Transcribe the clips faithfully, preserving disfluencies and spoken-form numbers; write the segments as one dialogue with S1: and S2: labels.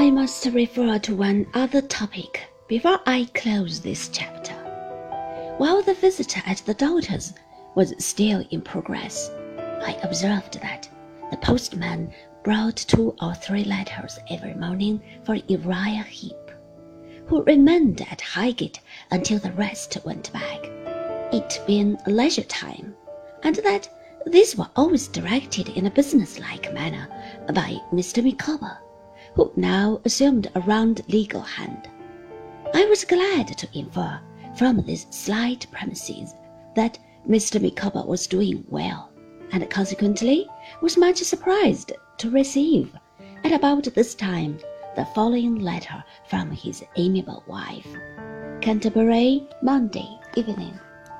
S1: I must refer to one other topic before I close this chapter. While the visit at the daughter's was still in progress, I observed that the postman brought two or three letters every morning for Uriah Heep, who remained at Highgate until the rest went back, it being leisure time, and that these were always directed in a businesslike manner by Mister Micawber, who now assumed a round legal hand. I was glad to infer from these slight premises that Mister Micawber was doing well, and consequently was much surprised to receive, at about this time, the following letter from his amiable wife. Canterbury, Monday evening.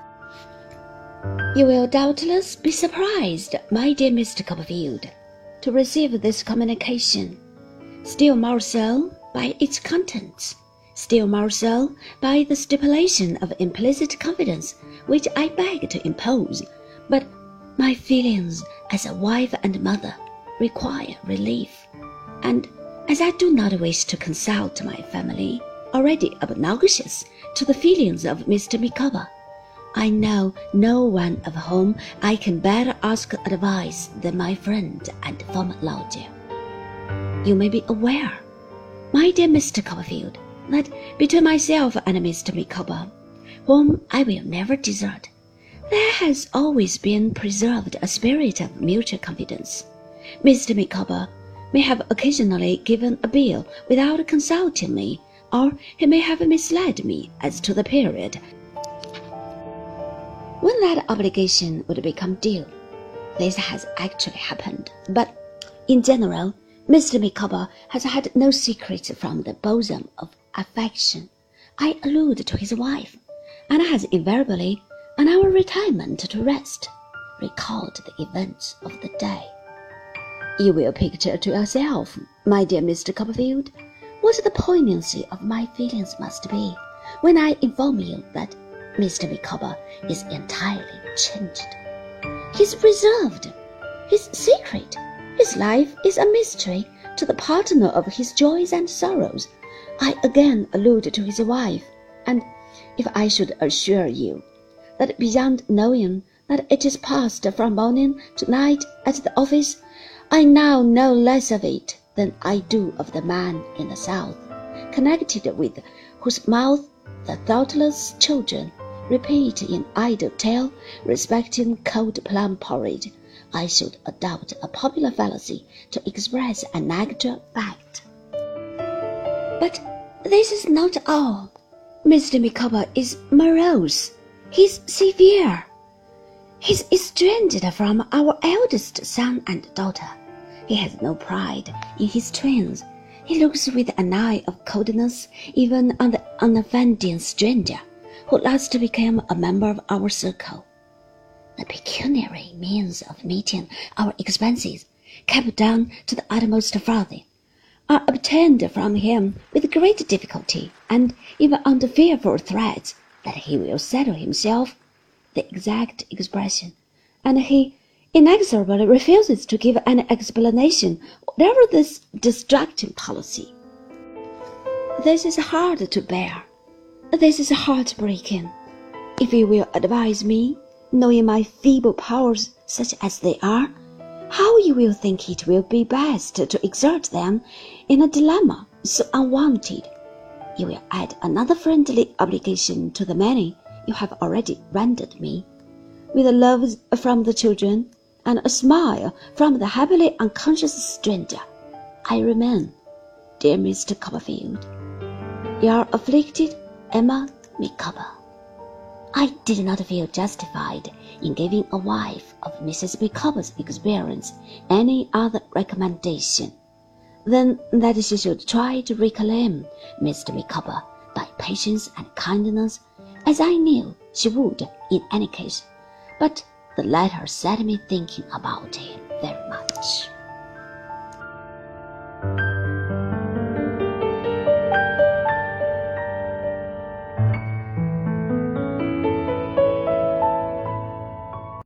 S1: You will doubtless be surprised, my dear Mister Copperfield, to receive this communication, still more so by its contents, still more so by the stipulation of implicit confidence which I beg to impose, but my feelings as a wife and mother require relief, and as I do not wish to consult my family, already obnoxious to the feelings of Mister Micawber, I know no one of whom I can better ask advice than my friend and former lodger. You may be aware, my dear Mister Copperfield, that between myself and Mister Micawber, whom I will never desert, there has always been preserved a spirit of mutual confidence. Mister Micawber may have occasionally given a bill without consulting me, or he may have misled me as to the period when that obligation would become due. This has actually happened, but in general, Mister Micawber has had no secrets from the bosom of affection. I allude to his wife, and has invariably, on our retirement to rest, recalled the events of the day. You will picture to yourself, my dear Mister Copperfield, what the poignancy of my feelings must be when I inform you that Mister Micawber is entirely changed. He's reserved, his secret, his life is a mystery to the partner of his joys and sorrows. I again allude to his wife, and if I should assure you that beyond knowing that it is passed from morning to night at the office, I now know less of it than I do of the man in the south, connected with whose mouth the thoughtless children repeat in idle tale respecting cold plum porridge, I should adopt a popular fallacy to express an actual fact. But this is not all. Mister Micawber is morose. He's severe. He's estranged from our eldest son and daughter. He has no pride in his twins. He looks with an eye of coldness even on the unoffending stranger who last became a member of our circle. The pecuniary means of meeting our expenses, kept down to the utmost farthing, are obtained from him with great difficulty, and even under fearful threats that he will settle himself, the exact expression, and he inexorably refuses to give any explanation whatever this distracting policy. This is hard to bear. This is heartbreaking. If you will advise me, knowing my feeble powers such as they are, how you will think it will be best to exert them in a dilemma so unwanted, you will add another friendly obligation to the many you have already rendered me. With love from the children, and a smile from the happily unconscious stranger, I remain, dear Mister Copperfield, your afflicted Emma Micawber. I did not feel justified in giving a wife of Missus Micawber's experience any other recommendation than that she should try to reclaim Mister Micawber by patience and kindness, as I knew she would in any case, but the letter set me thinking about him very much.